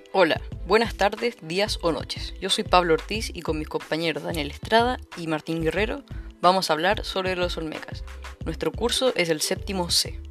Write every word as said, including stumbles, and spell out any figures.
Hola, buenas tardes, días o noches. Yo soy Pablo Ortiz y con mis compañeros Daniel Estrada y Martín Guerrero vamos a hablar sobre los Olmecas. Nuestro curso es el séptimo C.